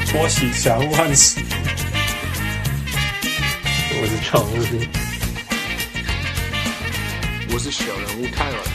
我是小人物漢斯， 我是常務， 我是小人物泰文。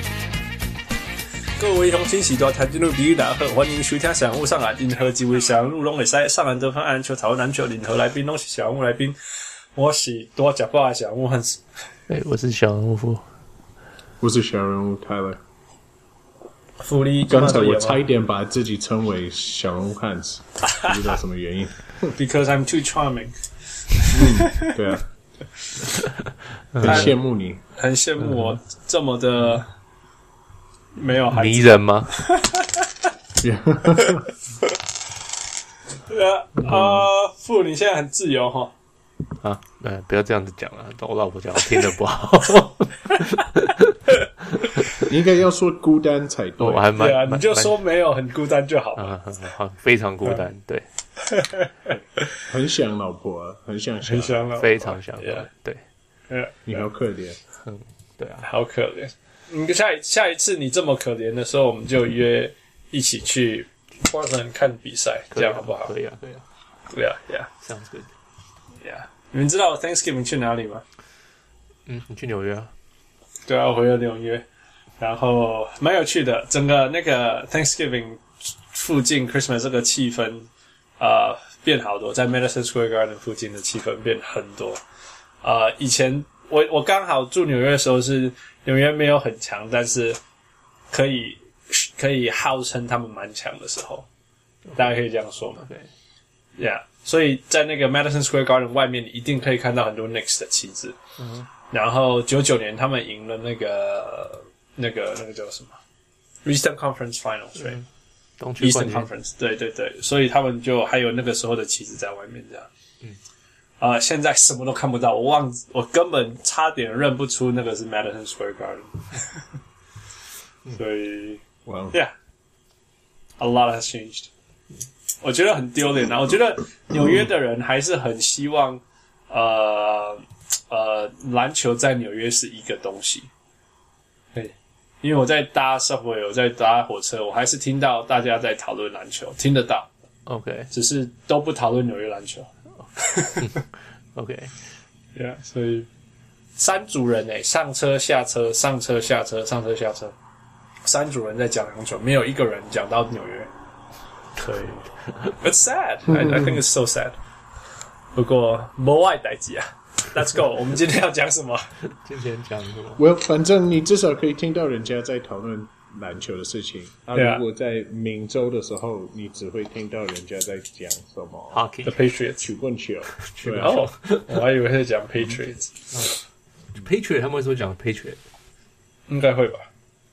各位鄉親時代聽眾朋友大家好，歡迎收聽小人物上籃，任何一位小人物攏會使上籃得分、按籃球、討論籃球，任何來賓攏是小人物來賓。我是多吃飽的小人物漢斯， 我是小人物富， 我是小人物泰勒。 福利剛才我差一點把自己稱為小人物漢斯，不知道什麼原因。 Because I'm too charming。 對啊，很羨慕你， 很羨慕我這麼的沒有孩子迷人嗎？ 父，你現在很自由齁。 啊，不要這樣子講了，我老婆講我聽得不好。 你應該要說孤單才對。 我還對啊，你就說沒有很孤單就好了。 非常孤單，对。 很想老婆啊，很想老婆， 非常想，对。 你好可憐， 对啊，好可憐。下一次你這麼可憐的時候，我們就約一起去 Portland 看比賽，這樣好不好？ 可以啊，Sounds good。Yeah， 你們知道我 Thanksgiving 去哪裡嗎？ 你去紐約啊？ 對啊，我回了紐約，然後蠻有趣的。整個那個 Thanksgiving 附近 Christmas 這個氣氛，變好多，在 Madison Square Garden 附近的氣氛變很多。以前我剛好住紐約的時候是紐約沒有很強，但是可以號稱他們蠻強的時候，大家可以這樣說嘛？對 ，Yeah。所以在那個 Madison Square Garden 外面，你一定可以看到很多 Knicks 的旗幟。然後99年他們贏了那個叫什麼 Eastern Conference Finals， 對， 東區冠軍 Eastern Conference， 對，所以他們就還有那個時候的旗幟在外面這樣。現在什麼都看不到，我根本差點認不出那個是 Madison Square Garden。所以 ，Yeah，a lot has changed。我覺得很丟臉啊！我覺得紐約的人還是很希望，籃球在紐約是一個東西。對，因為我在搭 subway， 我在搭火車，我還是聽到大家在討論籃球，聽得到。 OK， 只是都不討論紐約籃球。 OK，Yeah， 所以三組人上車下車，上車下車，上車下車，三組人在講籃球，沒有一個人講到紐約。對，It's sad. I think it's so sad. 不過沒愛代誌啊。Let's go. 我們今天要講什麼？ 今天講什麼？ 我反正你至少可以聽到人家在討論籃球的事情。如果在明州的時候，你只會聽到人家在講什麼 Hockey, The Patriots, 曲棍球。 哦，我還以為是講 Patriots。Patriot 他們會說講 Patriot， 應該會吧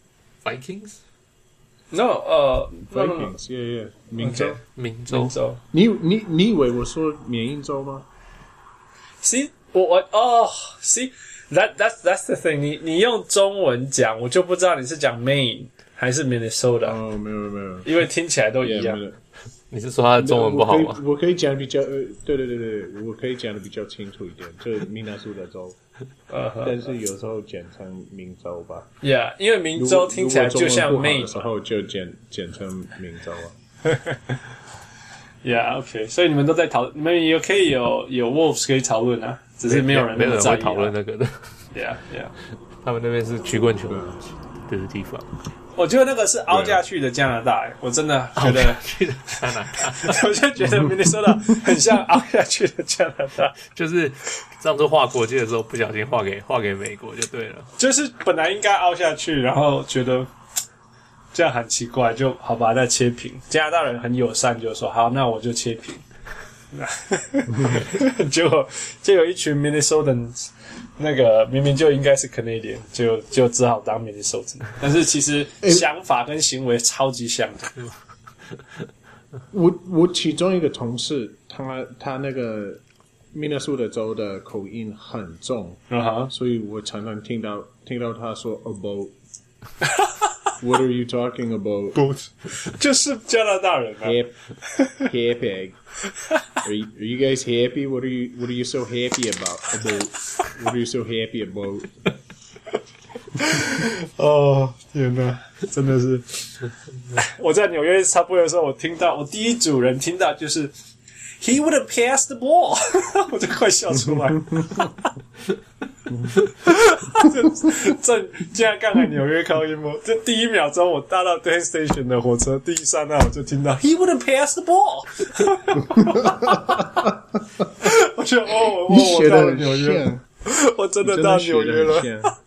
？Vikings？No， Vikings， yeah， 明州。你以為我說緬因州嗎 ？See， See， that's the thing 你用中文講，我就不知道你是講 Maine 還是 Minnesota。 哦，沒有， 因為聽起來都一樣。 你是說他的中文不好嗎？ 我可以講比較對，我可以講的比較清楚一點，就是明納蘇達州。但是有時候簡稱明州吧。 Yeah， 因為明州聽起來就像 Maine 的時候就簡稱明州啊。 Yeah，OK， 所以你們都在討論，你們也可以有 Wolves 可以討論啊，只是沒有人會討論那個的。 Yeah， 他們那邊是曲棍球的地方。 我覺得那個是凹下去的加拿大，我真的覺得去的加拿大， 我就覺得明尼蘇達很像凹下去的加拿大， 就是上次畫國際的時候不小心畫給美國就對了， 就是本來應該凹下去，然後覺得這樣很奇怪，就好把它切平。加拿大人很友善，就說好，那我就切平。結果就有一群 Minnesotans， 那個明明就應該是 Canadian， 就只好當 Minnesota， 但是其實想法跟行為超級像的。 我其中一個同事，他那個 Minnesota 州的口音很重，所以我常常聽到他說 about。What are you talking about? Both. 就是加拿大人啊。 Happy. Are you guys happy? What are you so happy about? What are you so happy about? 哦，天哪，真的是！我在紐約插播的时候，我第一組人听到就是 He would have passed the ball， 我就快笑出来。竟然刚才紐約高音波，就第一秒鐘我搭到 Penn Station 的火車，第一剎那我就聽到 He would have passed the ball。我覺得我到了紐約，我真的到紐約了。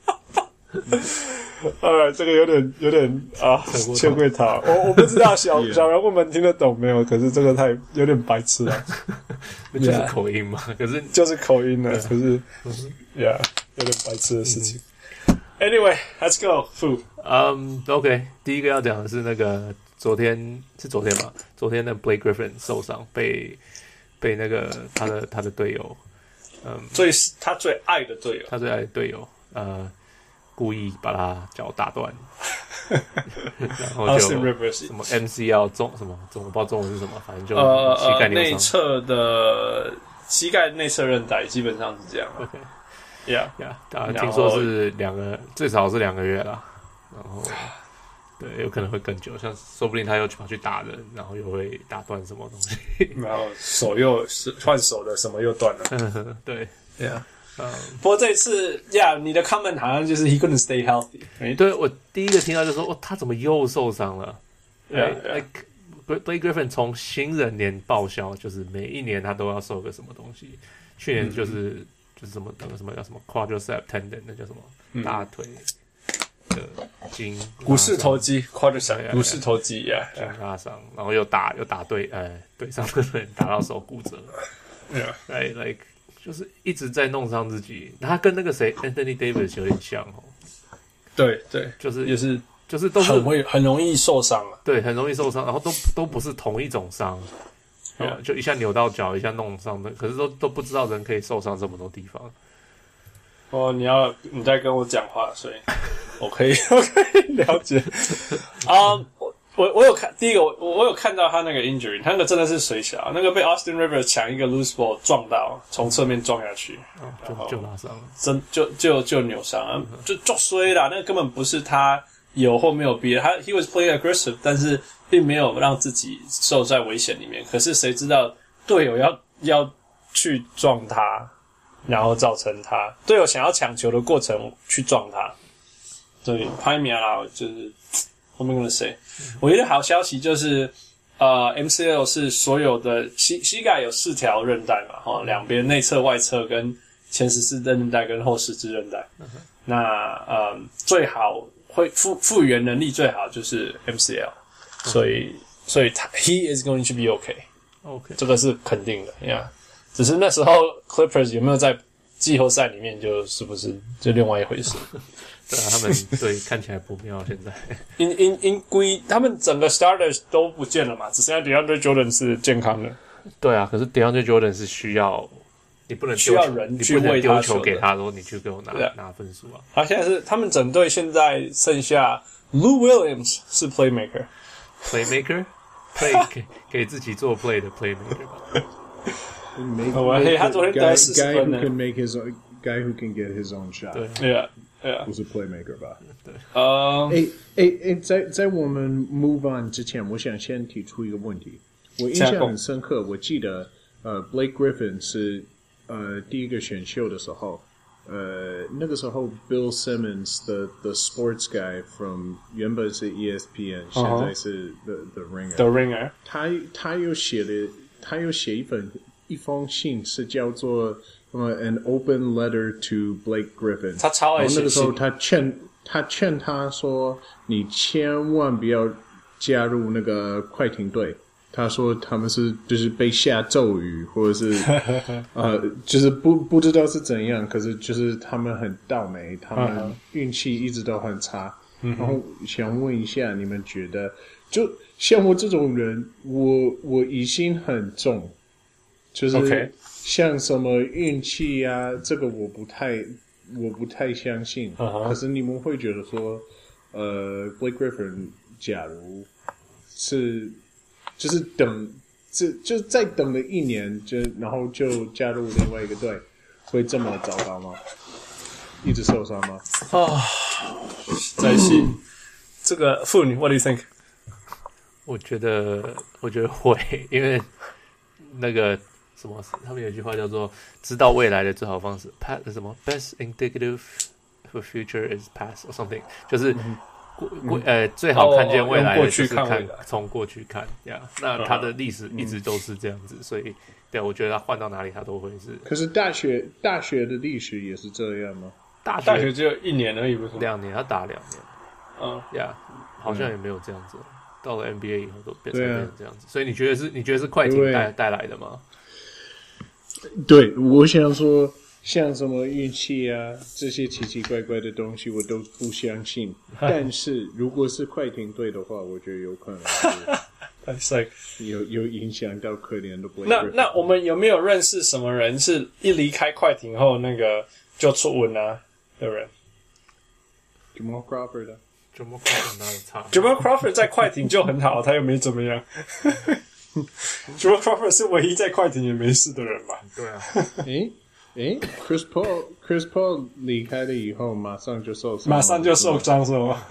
這個有點啊，欠會逃。我不知道小人物們聽得懂沒有？可是這個有點白痴了。 就是口音嘛，可是就是口音了，可是有點白痴的事情。Anyway, let's go. Fu. OK， 第一個要講的是那個昨天吧？昨天的 Blake Griffin 受傷，被那個他的隊友， 他最愛的隊友， 故意把他腳打斷，然後就什麼 MCL 什麼我不知道中文是什麼，反正就膝蓋內側的膝蓋內側韌帶基本上是這樣。 OK，聽說是最少是2個月啦，然後對，有可能會更久，像說不定他又跑去打人，然後又會打斷什麼東西， 然後手又換手的什麼又斷了。 對。 不過這一次你的 comment 好像就是 he couldn't stay healthy。 對，我第一個聽到就說，他怎麼又受傷了？Blake Griffin 從新人年報銷，就是每一年他都要受個什麼東西。去年就是什麼叫什麼 quadricep tendon， 那叫什麼大腿的筋， 股四头肌 quadricep 股四头肌拉傷，然後又打对上的人打到手骨折。like 就是一直在弄傷自己，他跟那個誰 Anthony Davis 有點像哦。 對， 就是也是， 就是都是很容易受傷啊。 對，很容易受傷，然後都不是同一種傷，就一下扭到腳，一下弄傷的，可是都不知道人可以受傷這麼多地方。 哦，你在跟我講話，所以我可以了解。我有看第一個，我有看到他那個 injury， 他那個真的是水小，那個被 Austin Rivers 搶一個 loose ball 撞到，從側面撞下去， 就拉傷了， 就扭傷了，就衰啦。那個根本不是他有或沒有逼的，他 he was playing aggressive， 但是並沒有讓自己受在危險裡面。可是誰知道隊友要去撞他，然後造成他隊友想要搶球的過程去撞他，所以拍名啦，就是我們跟他說。我覺得好消息就是MCL 是所有的膝蓋有4條韌帶嘛，兩邊內側、外側跟前14韌帶跟後十字韌帶。那最好會復原能力最好就是 MCL， 所以he is going to be okay， 這個是肯定的呀。只是那時候 Clippers 有沒有在季後賽裡面，就是不是就另外一回事。 對啊，他們對看起來不妙，現在因歸他們整個 starters 都不見了嘛，只剩下 DeAndre Jordan 是健康的。 對啊，可是 DeAndre Jordan 是需要你不能需要人去喂他球给他，說你去给我拿分數啊。 好，現在是他們整隊現在剩下 Lou Williams 是 playmaker 給自己做 play 的 playmaker 吧。他昨天得40分呢。 Guy who can get his own shot， 對， 不是 playmaker 吧？ 對。 在我們 move on 之前，我想先提出一個問題。我印象很深刻，我記得Blake Griffin 是第一個選秀的時候，那個時候 Bill Simmons the sports guy from 原本是 ESPN， 現在是 the Ringer。他又寫一封信，是叫做an open letter to Blake Griffin。 他超愛寫信。 那個時候他勸他說：“你千萬不要加入那個快艇隊。”他說他們就是被下咒語，或者是就是不知道是怎樣，可是就是他們很倒霉，他們運氣一直都很差。然後想問一下，你們覺得，就像我這種人，我疑心很重。就是像什麼運氣啊，這個我不太相信。可是你們會覺得說，Blake Griffin 假如是就是就再等了1年，然後就加入另外一個隊，會這麼糟糕嗎？ 一直受傷嗎？ 在戲這個婦女 ，What do you think？ 我覺得會，因為那個什麼，他們有一句話叫做"知道未來的最好方式 "，什麼 "Best indicative for future is past" or something， 就是最好看見未来的就是從過去看呀。那他的歷史一直都是這樣子，所以对我觉得他換到哪裡他都会是。 可是大学的歷史也是這樣嗎？ 大學只有1年而已，不是 2年，他打2年。好像也沒有這樣子。到了 NBA 以後都變成這樣子，所以你覺得是快艇帶来的嗎？ 对，我想說，像什麼運氣啊，這些奇奇怪怪的東西我都不相信。但是如果是快艇隊的話，我覺得有可能是有影響到可憐的 Blake。 那我們有沒有認識什麼人是一離開快艇後那個就出文啊的人 ？Jamal Crawford 的。 Jamal Crawford 哪裡差 ？Jamal Crawford 在快艇就很好，他又沒怎麼樣。Jamal Crawford 是唯一在快艇也沒事的人吧？ 對啊。 Chris Paul 離開了以後，馬上就受傷是嗎？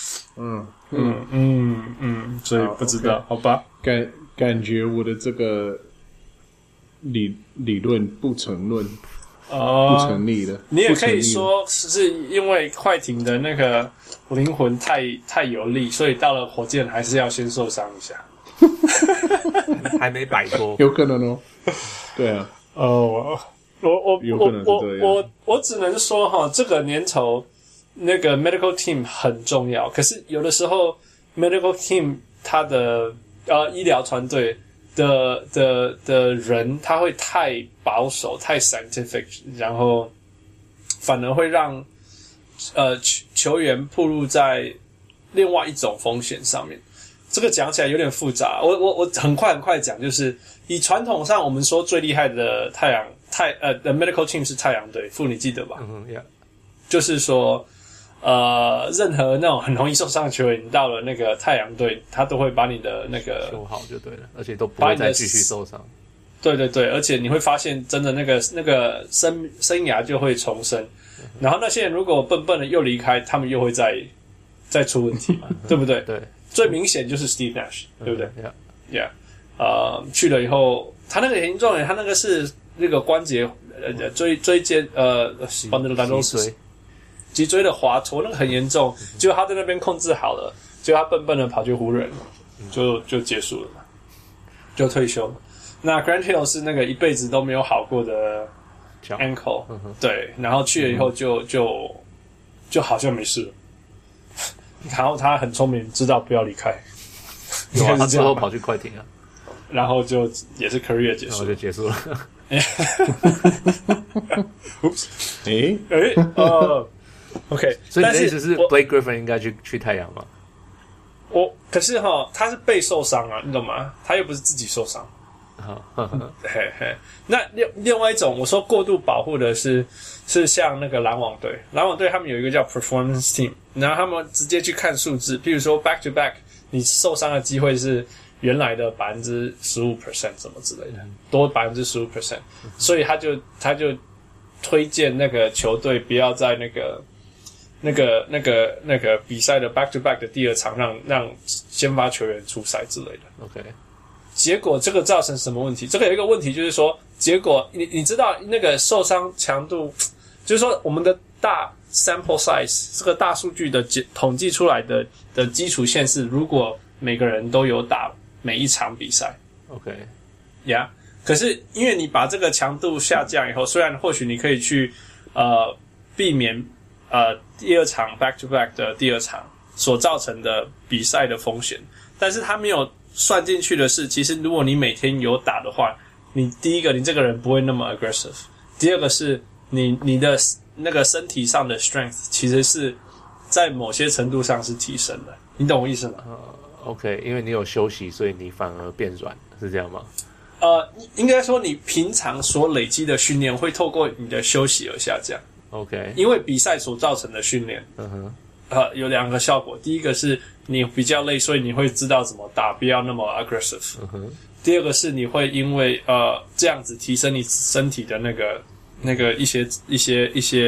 所以不知道，好吧？ 感覺我的這個理論不成論。不成立的。 你也可以說是因為快艇的那個靈魂太有力，所以到了火箭還是要先受傷一下。 還沒擺脫， 有可能哦。對啊， 有可能是這樣。 我只能說哈，這個年頭那個 medical team 很重要，可是有的時候 medical team 他的醫療團隊的人他会太保守太 scientific， 然後反而會讓球員暴露在另外一種風險上面。這個講起來有點複雜，我很快講，就是以傳統上我們說最厲害的的 medical team 是太陽隊，你記得吧 ？Yeah. 就是說任何那種很容易受傷的球員，你到了那個太陽隊，他都會把你的那個修好就对了，而且都不會再繼續受傷。 對對對，而且你會發現真的那個生涯就會重生。然後那些人如果笨笨的又離開，他們又會再出問題嘛，对不對？ 对， 最明顯就是 Steve Nash， 對不對？Yeah， 去了以後，他那個嚴重，他那個是那個關節椎間脊椎的滑脫，那個很嚴重。結果他在那邊控制好了，結果他笨笨的跑去湖人，就結束了嘛，就退休了。那 Grant Hill 是那個一輩子都沒有好過的 ankle，對，然後去了以後就好像沒事了。然後他很聰明，知道不要離開。 有啊，他之後跑去快艇啊， 然後就也是 career 結束， 然後就結束了。 OK， 所以你的意思是 Blake Griffin 應該去太陽嗎？ 可是他是被受傷啊，你懂嗎？他又不是自己受傷。嘿嘿，那另外一種我說過度保護的是像那個籃網隊他們有一個叫 performance team， 然後他們直接去看數字，譬如說 back to back 你受傷的機會是原來的 15% 什麼之類的，多 15%， 所以他就推薦那個球隊不要在那個比賽的 back to back 的第二場讓先發球員出賽之類的。 OK。 結果這個造成什麼問題？這個有一個問題就是說，結果你知道那個受傷強度，就是說我們的大 sample size 這個大數據的統計出來的基礎線是，如果每個人都有打每一場比賽 ，OK， 呀、yeah ，可是因為你把這個強度下降以後，雖然或許你可以去避免第二場 back to back 的第二場所造成的比賽的風險，但是它沒有算進去的是，其實如果你每天有打的話，你第一個你這個人不會那麼 aggressive， 第二個是你的那個身體上的 strength 其實是在某些程度上是提升的，你懂我意思嗎 ？OK， 因為你有休息，所以你反而變軟，是這樣嗎？ 應該說你平常所累積的訓練會透過你的休息而下降。 OK， 因為比賽所造成的訓練，有兩個效果，第一個是你比較累，所以你會知道怎麼打，不要那麼 aggressive。第二個是你會因為這樣子提升你身體的那個一些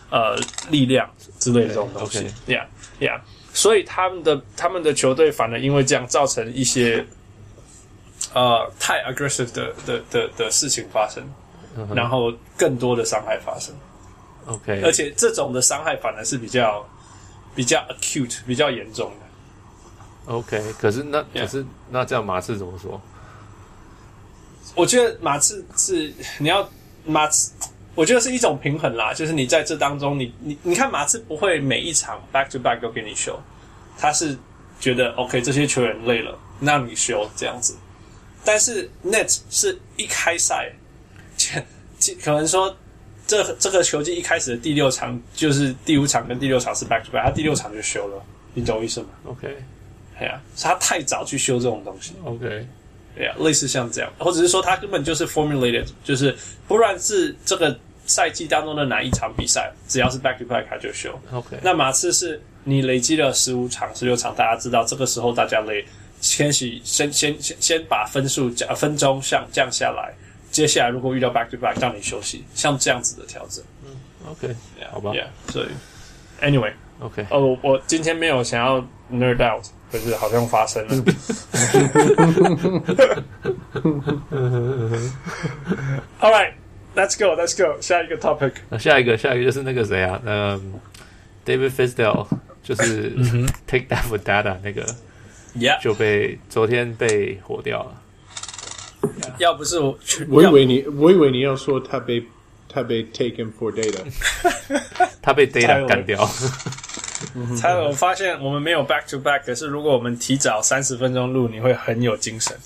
力量之類的這種東西。Yeah，所以他們的球隊反而因為這樣造成一些太 aggressive 的事情發生，然後更多的傷害發生。 OK， 而且这种的傷害反而是比較 acute 比較嚴重的。 OK， 可是那這樣馬刺怎麼說？ 我覺得馬刺是我覺得是一種平衡啦，就是你在這當中，你看馬刺不會每一場 back to back 都給你休，他是覺得 OK 這些球員累了，那你休這樣子。但是 Nets 是一開賽，可能說這個球季一開始的第6場就是第5場跟第6場是 back to back， 他第6場就休了，你懂我意思嗎 ？OK， 對啊，是他太早去休這種東西。 OK。 對啊，類似像這樣，或者是說他根本就是 formulated， 就是不論是這個賽季當中的哪一場比賽，只要是 back to back 他就休。 OK， 那馬刺是你累積了15場、16場，大家知道這個時候大家累，先把分鐘降下來，接下來如果遇到 back to back 讓你休息，像這樣子的調整。 OK， yeah, 好吧。 Yeah， 所以 anyway， OK， 我今天沒有想要 nerd out。可是好像發生了。All right, let's go. 下一個 topic。 下一個就是那個誰啊，David Fizdale 就是 Take That for Data 那個，就昨天被火掉了。 要不是我以為你要說他被 taken for data， 他被 data 幹掉。 我發現我們沒有 back to back， 可是如果我們提早30分鐘錄，你會很有精神。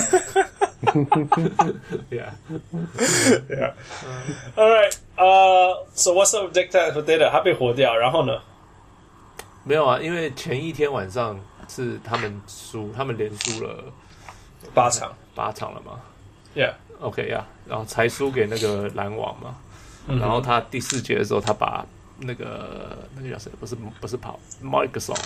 Yeah. All right. So what's up with Take That for Data？ 他被火掉，然後呢？ 沒有啊，因為前一天晚上是他們連輸了8場了嘛。 Yeah. OK 呀，然後才輸給那個籃網嘛。然後他第4節的時候，他把那個叫誰？不是跑 Marc Gasol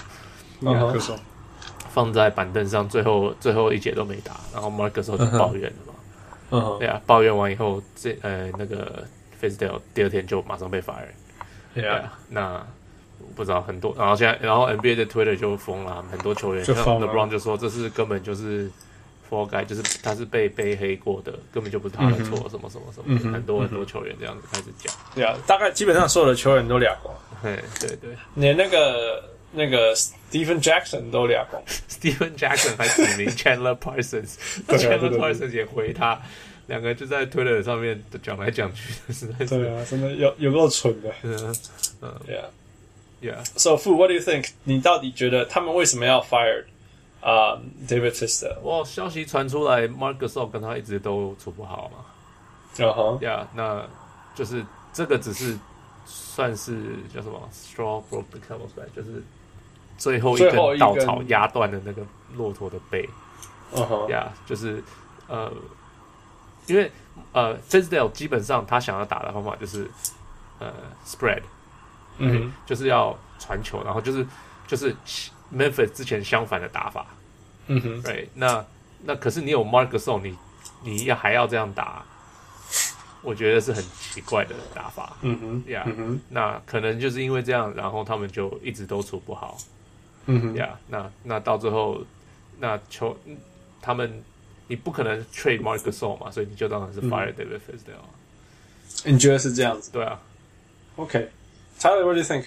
放在板凳上，最後一節都沒打，然後 Marc Gasol 就抱怨了嘛。對啊，抱怨完以後，那個 Fizdale 第2天就馬上被 fire。那不知道很多，然後 NBA 的 Twitter 就瘋了，很多球員像 LeBron 就說這是根本就是 fall guy， 就是他是被黑過的，根本就不是他的錯，什麼什麼什麼，很多球員這樣子開始講。 對啊，大概基本上所有的球员都倆光。 對， 連那個 Stephen Jackson 都倆光。 Stephen Jackson 還指名 Chandler Parsons，Chandler Parsons 也回他，兩個就在 Twitter 上面講來講去的，實在是。對啊，真的有夠蠢的。Yeah. So Fu, what do you think？ 你到底覺得他們為什麼要 fire David Fizdale？ 哇，消息傳出來 ，Marc Gasol 跟他一直都處不好嘛。Yeah， 那就是這個只是算是叫什麼 straw broke the camel's back， 就是最後一根稻草壓斷了那個駱駝的背。Yeah， 就是因為Fizdale 基本上他想要打的方法就是spread。就是要傳球，然後就是 Memphis 之前相反的打法。right， 那可是你有 Marc Gasol， 你還要這樣打，我覺得是很奇怪的打法。Yeah，那可能就是因為這樣，然後他們就一直都處不好。Yeah，那到最後，他們你不可能 trade Marc Gasol 嘛，所以你就當然是 fire David Fizdale。 你覺得是這樣子？ 對啊。 OK。Tyler, what do you think？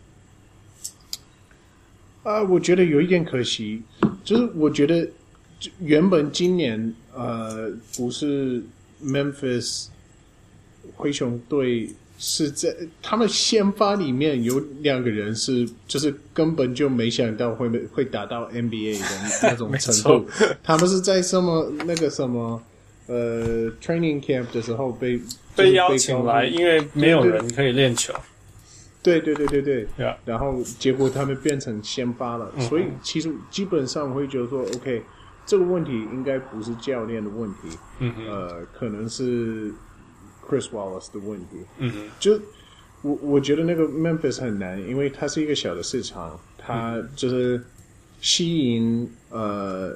我覺得有一點可惜，就是我覺得原本今年不是 Memphis 灰熊隊是在他們先發裡面有2個人是就是根本就沒想到會打到 NBA 的那種程度，他們是在那個什麼training camp 的時候被邀請來，因為沒有人可以練球。 對，然後結果他們變成先發了，所以其實基本上我會覺得說 ，OK， 這個問題應該不是教練的問題，可能是 Chris Wallace 的問題。就我覺得那個 Memphis 很難，因為它是一個小的市場，它就是吸引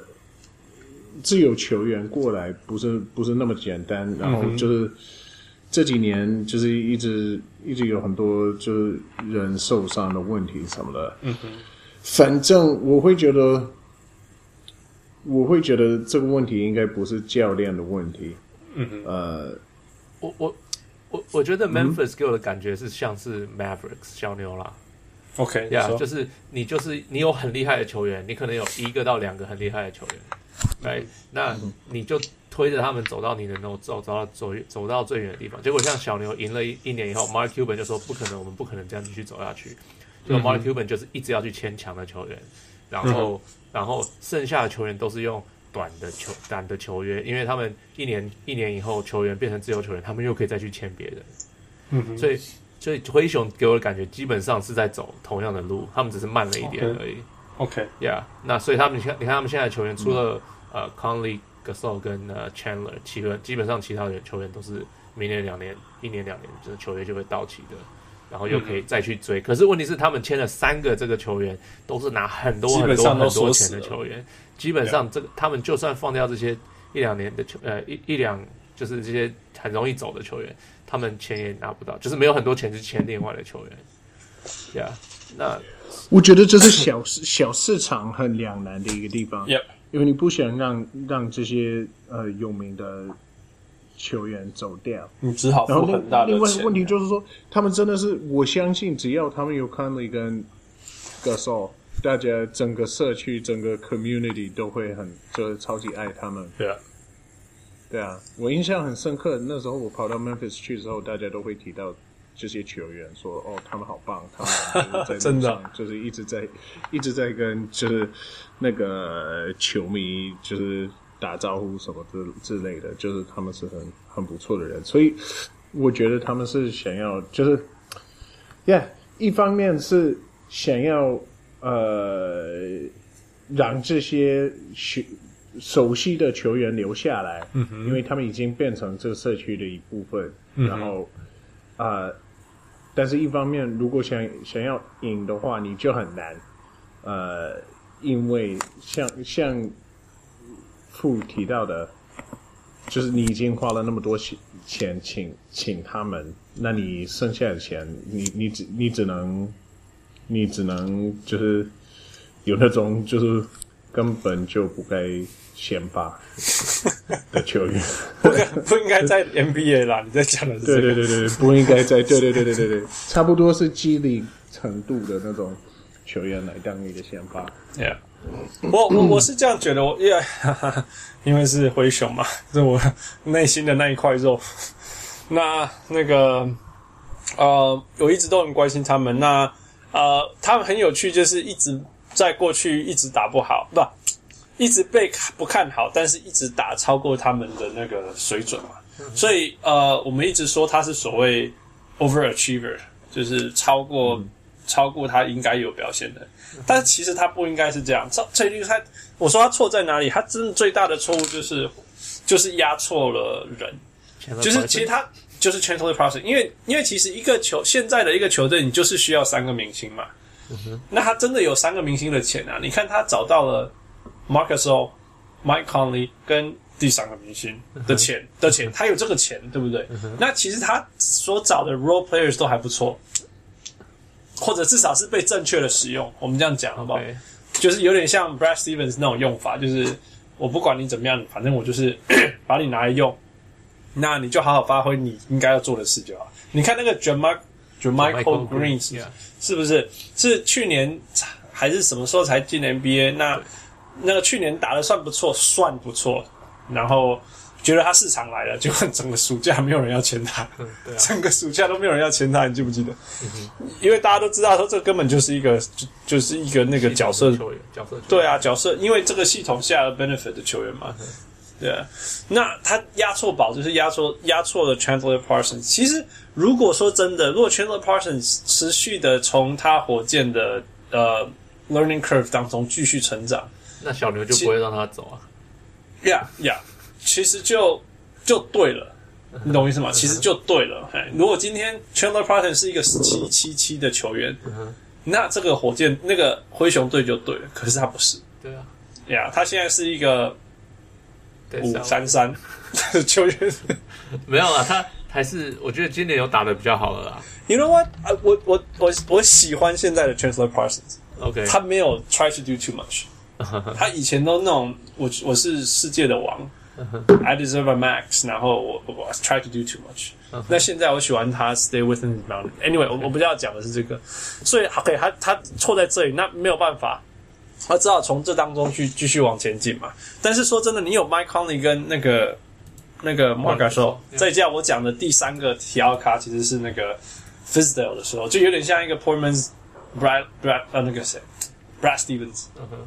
自由球員過來不是那麼簡單，然後就是這幾年就是一直有很多就是人受傷的問題什麼的。反正我會覺得這個問題應該不是教練的問題。 我覺得 Memphis 給我的感覺是像是 Mavericks 小牛啦。 OK， 就是你有很厲害的球員，你可能有1個到2個很厲害的球員，對，那你就推着他們走到你能夠走到最遠的地方。結果像小牛贏了一年以後 ，Mark Cuban 就說不可能，我們不可能這樣繼續走下去。結果 Mark Cuban 就是一直要去簽強的球員，然後剩下的球員都是用短的球約，因為他們一年以後球員变成自由球员，他們又可以再去簽別人。所以灰熊給我的感覺基本上是在走同樣的路，他們只是慢了一點而已。 OK， 那所以你看他們现在的球员，除了Conley、Gasol 跟Chandler，基本上其他的球员都是明年1年2年，就是球约就会到期的，然後又可以再去追。可是問題是，他们簽了3個這個球員，都是拿很多錢的球員，基本上他們就算放掉這些1-2年的一兩就是這些很容易走的球員，他們錢也拿不到，就是沒有很多錢去簽另外的球員。那我覺得這是小市場很兩難的一個地方。因為你不想讓這些有名的球員走掉， 你只好付很大的錢。 另外一個問題就是說，他們真的是，我相信只要他們有 Conley 跟 Gasol， 大家整個社區、整個 community 都會就是超級愛他們。對啊，我印象很深刻，那時候我跑到 Memphis 去之後，大家都會提到這些球員說，哦，他們好棒，他們在真的就是一直在跟就是那個球迷就是打招呼什麼之類的，就是他們是很不錯的人，所以我覺得他們是想要就是一方面是想要讓這些熟悉的球員留下來，因為他們已經變成這個社區的一部分，然後但是一方面如果想要贏的話，你就很難，因為像傅提到的，就是你已經花了那麼多錢請他們，那你剩下的錢，你只能就是有那種就是根本就不該先發的球員， 不應該在 NBA 啦。你在講的是這個， 對，不應該在對，差不多是激勵程度的那種球員來當你的先發。 我是這樣覺得，因為是灰熊嘛，是我內心的那一塊肉。那個我一直都很關心他們。那他們很有趣，就是一直在過去一直打不好，一直被不看好，但是一直打超過他們的那個水準嘛。所以我們一直說他是所謂 overachiever， 就是超過他應該有表現的。但是其實他不應該是這樣。我說他錯在哪裡？他真的最大的錯誤就是壓錯了人，就是其實他就是 Chandler Parsons， 因為其實現在的一個球隊，你就是需要3個明星嘛。那他真的有3個明星的錢啊？你看他找到了 Marc Gasol、Mike Conley 跟第3個明星的錢，他有這個錢，對不對？那其實他所找的 role players 都還不錯，或者至少是被正確的使用。我們這樣講好不好？就是有點像 Brad Stevens 那種用法，就是我不管你怎麼樣，反正我就是把你拿來用，那你就好好發揮你應該要做的事就好。你看那個 Jermichael Green 是不是？是去年還是什麼時候才進 NBA？ 那個去年打得算不錯，然後覺得他市場來了，結果整個暑假沒有人要簽他，整個暑假都沒有人要簽他，你記不記得？因為大家都知道說這根本就是一個那個角色球员，對啊，角色，因為這個系統下了 benefit 的球員嘛，对啊。那他壓錯宝就是压錯了 Chandler Parsons。其實如果說真的，如果 Chandler Parsons 持續的從他火箭的learning curve 當中繼續成長， 那小牛就不會讓他走啊。 其實就對了，你懂我意思嗎？其實就對了。如果今天 Chandler Parsons 是一個17-77的球員，那這個火箭那個灰熊隊就对了。可是他不是， 对啊， 他現在是一個5-3-3的球員。 沒有啦， 還是我覺得今年有打得比較好了啦。 You know what？ 我喜歡現在的 Chandler Parsons。OK， 他沒有 try to do too much 。他以前都那種我是世界的王，I deserve a max， 然後我 try to do too much。那現在我喜歡他 stay within the boundary。Anyway， 我不要講的是這個，所以 OK， 他錯在這裡，那沒有辦法，他只好從這當中去繼續往前進嘛。但是說真的，你有 Mike Conley 跟那個 Marc Gasol， 再加我講的第三個提奧卡其實是那個 Fizdale 的時候，就有點像一個 Portman's Brad 那個誰 Brad Stevens。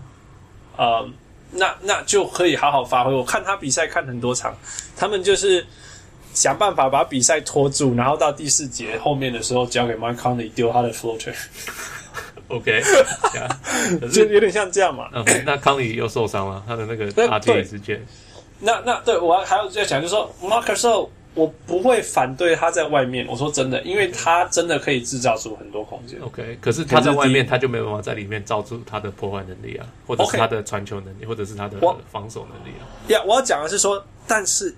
那就可以好好發揮。我看他比賽看很多場，他們就是想辦法把比賽拖住，然後到第4節後面的時候交給 Mike Conley 丟他的 floater。OK， 就有點像這樣嘛。 那康利又受傷了，他的那個 RTA 事件。 那對我還要再講，就是說 Marc Gasol 我不會反對他在外面。我說真的，因為他真的可以制造出很多空間。 OK， 可是他在外面他就沒有辦法在裡面造出他的破壞能力啊，或者是他的傳球能力，或者是他的防守能力啊。 我要講的是說，但是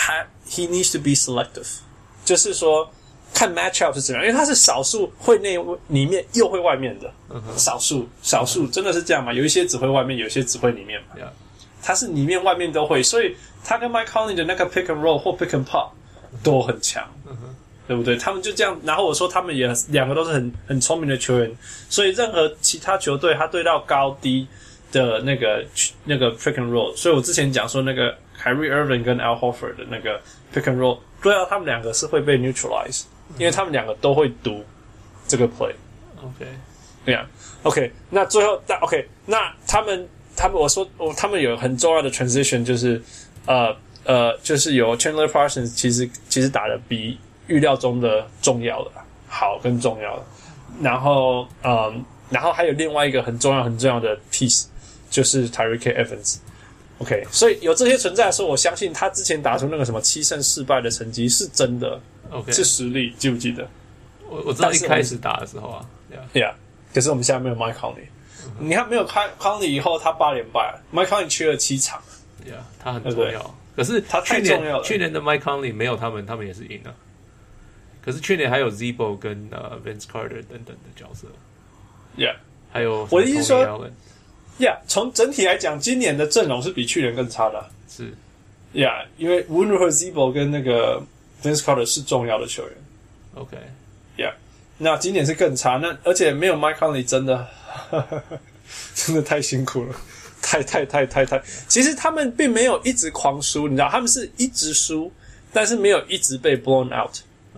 he needs to be selective， 就是說看 matchup 是怎樣，因為他是少數会內裡面又会外面的，少數真的是這樣嘛？有一些只會外面，有一些只會裡面嘛。他是裡面外面都會，所以他跟 Mike Conley 的那個 pick and roll 或 pick and pop 都很強，對不對？他們就這樣，然後我說他們也兩個都是很聰明的球員，所以任何其他球隊他对到高低的那個 pick and roll， 所以我之前講說那個 Kyrie Irving 跟 Al Horford 的那個 pick and roll 对到他們兩個是會被 neutralize， 因為他們兩個都會讀這個 play。OK， 對呀。OK， 那最後OK， 那他們我說他們有很重要的 transition， 就是就是有 Chandler Parsons 其實打得比預料中的重要的好跟重要的，然後還有另外一個很重要的 piece 就是 Tyreke Evans。OK， 所以有這些存在的時候，我相信他之前打出那個什麼7勝4敗的成績是真的， OK， 是實力，記不記得？ 我知道一開始打的時候啊 ，Yeah， 可是我們現在沒有 Mike Conley。你看，沒有Conley以後，他8連敗了。Mike Conley 缺了7場， 他很重要。可是他太重要了。 去年的 Mike Conley 沒有他們也是贏了。可是去年還有 Z-Bo 跟Vince Carter 等等的角色。還有我的意思說從整體來講，今年的陣容是比去年更差的。 是因為無論如何 Z-Bo 跟那個 Vince Carter 是重要的球員。 OK， 那今年是更差。那而且沒有 Mike Conley 真的太辛苦了，太。其實他們並沒有一直狂輸，你知道，他們是一直輸，但是沒有一直被 blown out。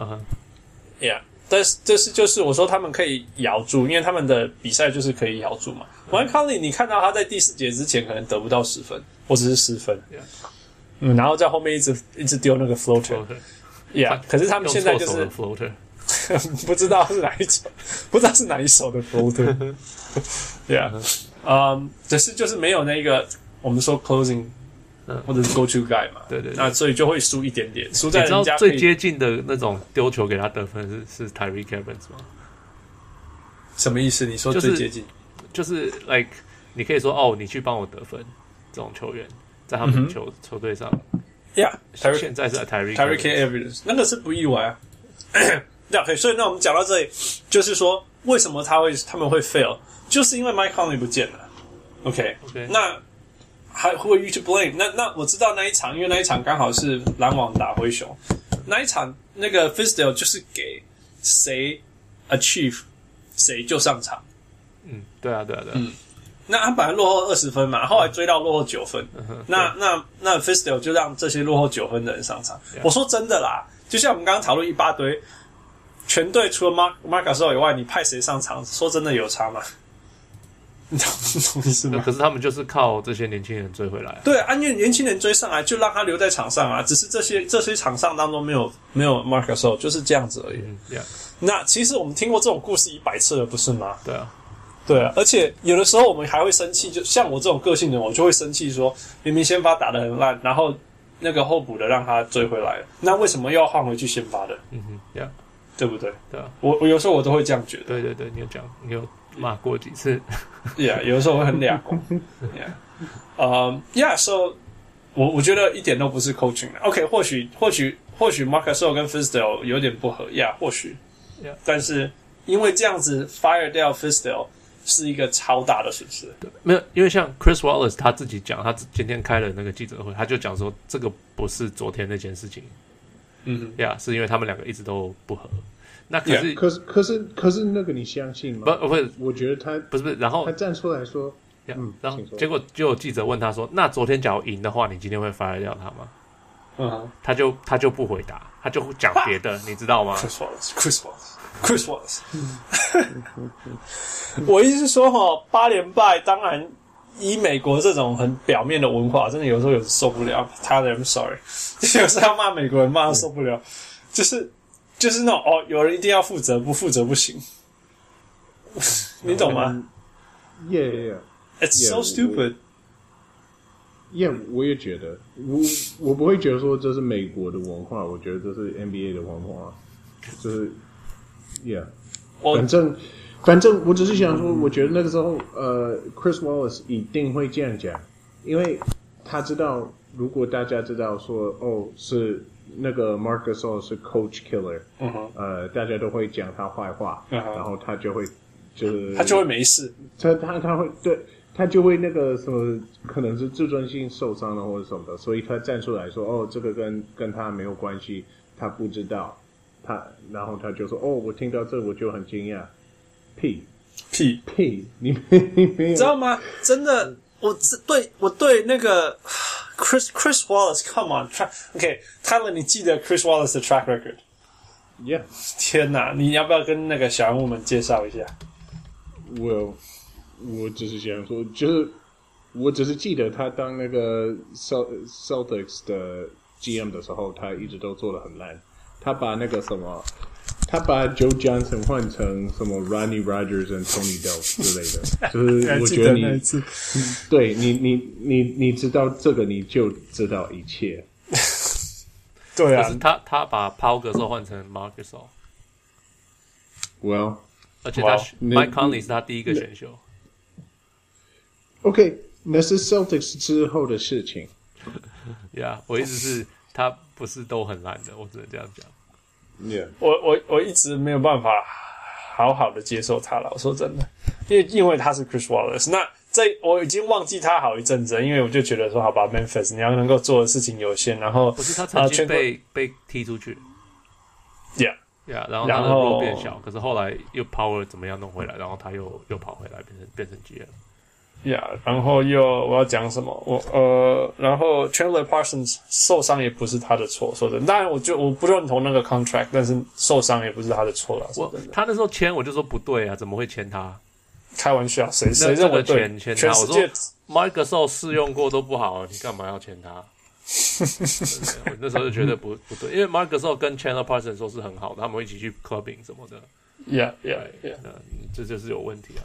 但是就是我說他們可以咬住，因為他們的比賽就是可以咬住嘛。Mike Conley 你看到他在第4節之前可能得不到10分，或者是10分，然後在後面一直丟那個 floater。可是他們現在就是。不知道是哪一首的 floater。只是就是沒有那個我們說 closing，或者是 go to guy 嘛。对，那所以就會輸一點點，輸在人家。你知道最接近的那種丟球給他得分是 Tyreke Evans 嗎？ 什麼意思？你說最接近？ 就是 like 你可以說你去幫我得分，這種球員在他們球隊上。現在是 Tyreke Evans， 那個是不意外啊。Okay， 所以那我們講到這裡，就是說為什麼他們會 fail， 就是因為 Mike Conley 不見了。OK， 那還 who are you to blame？ 那我知道那一場，因為那一場剛好是籃網打灰熊，那一場那個 Fizdale 就是給誰 achieve 誰就上場。 對啊。 那他本來落後20分嘛，後來追到落後9分。那 Fizdale 就讓這些落後9分的人上场。我說真的啦，就像我們剛剛討論一大堆。全隊除了 Marc Gasol 以外，你派誰上場？說真的有差嗎？你懂意思嗎？ 可是他們就是靠這些年輕人追回來。 對啊，因為年輕人追上來，就讓他留在場上啊。只是這些場上當中沒有 Marc Gasol，就是這樣子而已。那其實我們聽過這種故事100次了，不是嗎？對啊，而且有的時候我們還會生氣，就像我這種個性的人，我就會生氣說，明明先發打得很爛，然後那個候補的讓他追回來了，那為什麼又要換回去先發的？對不對？ 对啊， 我有時候我都會這樣覺得。 對，你有罵過幾次有的時候會很倆公。so 我覺得一點都不是 coaching 的。OK， 或許 Marc Gasol 跟 Fizdale 有點不合呀，或許 ，yeah. 但是因為這樣子 fire 掉 Fizdale 是一個超大的損失。 沒有，因為像 Chris Wallace 他自己講，他今天開了那個記者會，他就講說這個不是昨天那件事情，是因為他們兩個一直都不合。那可是， 可是那個你相信嗎？ 不是， 我覺得他不是，然後他站出來說， 然後結果就有記者問他說：“那昨天假如贏的話，你今天會 fire 掉他嗎？”他就不回答，他就講別的，你知道嗎 ？Chris Wallace， 我意思是說8連敗，當然以美國這種很表面的文化，真的有時候有受不了。I'm sorry， 有時候要罵美國人罵到受不了，就是那種有人一定要負責，不負責不行，你懂嗎 ？Yeah. It's so stupid. Yeah， 我也覺得，我不會覺得說這是美國的文化，我覺得這是 NBA 的文化，就是 Yeah， 反正我只是想說，我覺得那個時候Chris Wallace 一定會這樣講，因為他知道，如果大家知道說是那個 Marc Gasol 是 Coach Killer，大家都會講他壞話，然後他就會他就會沒事， 他會對。他就會那個什麼，可能是自尊心受傷了或者什麼的，所以他站出來說：“這個跟他沒有關係，他不知道。”然後他就說：“我聽到這我就很驚訝。”屁，你沒有知道嗎？真的，我對那個 Chris Wallace，come on，OK， Tyler， 你記得 Chris Wallace 的 track record？Yeah， 天哪，你要不要跟那個小人物們介紹一下？ 我只是想說，就是我只是記得他當那個 Celtics 的 GM 的时候，他一直都做得很爛。他把那個什麼，他把 Joe Johnson 換成什麼 Rodney Rogers and Tony Delk 之類的，就是我覺得對你知道這個，你就知道一切。 對啊， 可是他把 Paul Gasol 換成 Marc Gasol。Well， 而且Mike Conley 是他第一個選秀。 OK， 那是 Celtics 之後的事情。 Yeah， 我意思是，他不是都很爛的，我只能這樣講。 Yeah， 我一直沒有辦法好好的接受他了。我說真的，因為他是 Chris Wallace， 那我已經忘記他好一陣子了，因為我就覺得說，好吧 ，Memphis 你要能夠做的事情有限，然後不是他曾經被踢出去。 Yeah， 然後他的 role 變小，可是後來又 power 怎麼樣弄回來，然後他又跑回来變成 GM。 然後我要講什麼？然後 Chandler Parsons 受傷也不是他的錯，說真的。當然，我不認同那個 contract， 但是受傷也不是他的錯了。 他那時候簽，我就說不對啊，怎麼會簽他？ 開玩笑，誰認為對？ 簽他，我說 Marc Gasol 試用過都不好，你幹嘛要簽他？我那時候就覺得不對，因為 Marc Gasol 跟 Chandler Parsons 說是很好的，他們會一起去 clubbing 什麼的。 Yeah， 這就是有問題啊。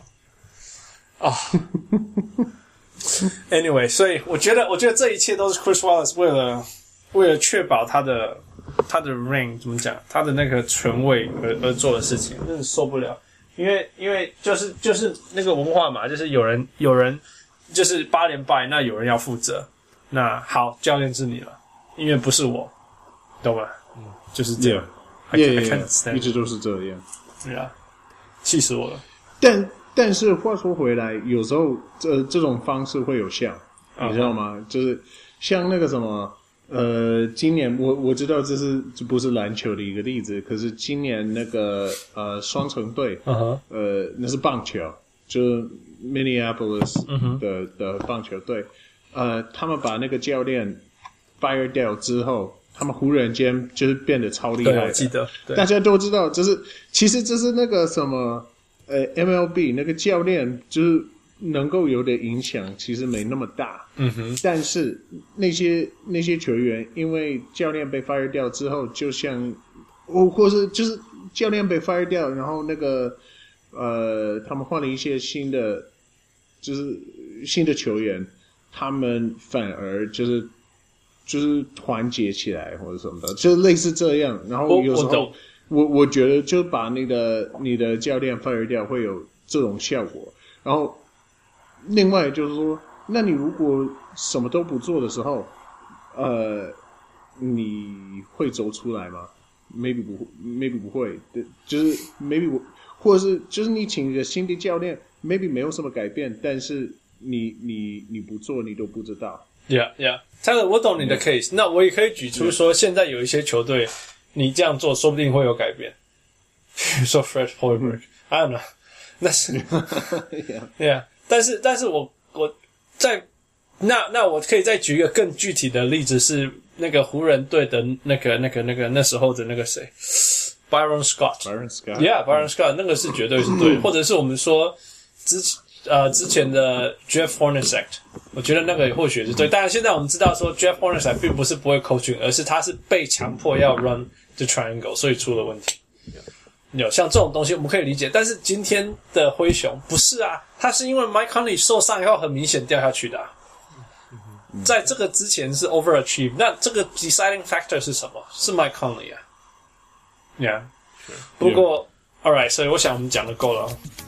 Anyway， 所以我覺得這一切都是 Chris Wallace 為了確保他的 ring 怎麼講，他的那個權位而做的事情，真的受不了。因為就是那個文化嘛，就是有人就是8連敗，那有人要負責。那好，教練是你了，因為不是我，懂嗎？就是這樣。 一直都是這樣。 對啊，氣死我了。 但是話說回來，有時候這種方式會有效，你知道嗎？就是像那個什麼，今年我知道這不是籃球的一個例子，可是今年那個雙城隊，那是棒球，就是 Minneapolis 的棒球隊，他們把那個教練 fire 掉之後，他們忽然間就是變得超厲害的。 對，我記得， 大家都知道，其實这是那個什麼。MLB 那個教練就是能夠有的影響其實沒那麼大，但是那些球員因為教練被 fire 掉之後，就像或是就是教練被 fire 掉，然後那個他們換了一些新的球員，他們反而就是團結起來或者什麼的，就是類似這樣，然後有時候。我覺得就把你的教練 fire 掉會有這種效果，然後另外就是說，那你如果什麼都不做的時候， 你會走出來嗎 ？Maybe 不會，就是 maybe 或者是就是你請一個新的教練 ，maybe 沒有什麼改變，但是你不做你都不知道。 Yeah， 这個我懂你的 case， 那我也可以舉出說，現在有一些球隊，你這樣做說不定會有改變。比如說 Fred Hoiberg，I don't know， 那是，yeah， 但是我在那我可以再舉一個更具體的例子，是那個湖人隊的那時候的那個誰 ，Byron Scott，Byron Scott， 那個是絕對是對，或者是我們說之前的 Jeff Hornacek， 我覺得那個或許是對。當然，現在我们知道說 Jeff Hornacek 並不是不會 coaching， 而是他是被強迫要 run the triangle， 所以出了問題。有像這種東西我們可以理解，但是今天的灰熊不是啊，他是因為 Mike Conley 受傷以後很明顯掉下去的啊。在這個之前是 overachieve， 那這個 deciding factor 是什麼？是 Mike Conley 啊。Yeah， 不過 alright， 所以我想我們講的夠了。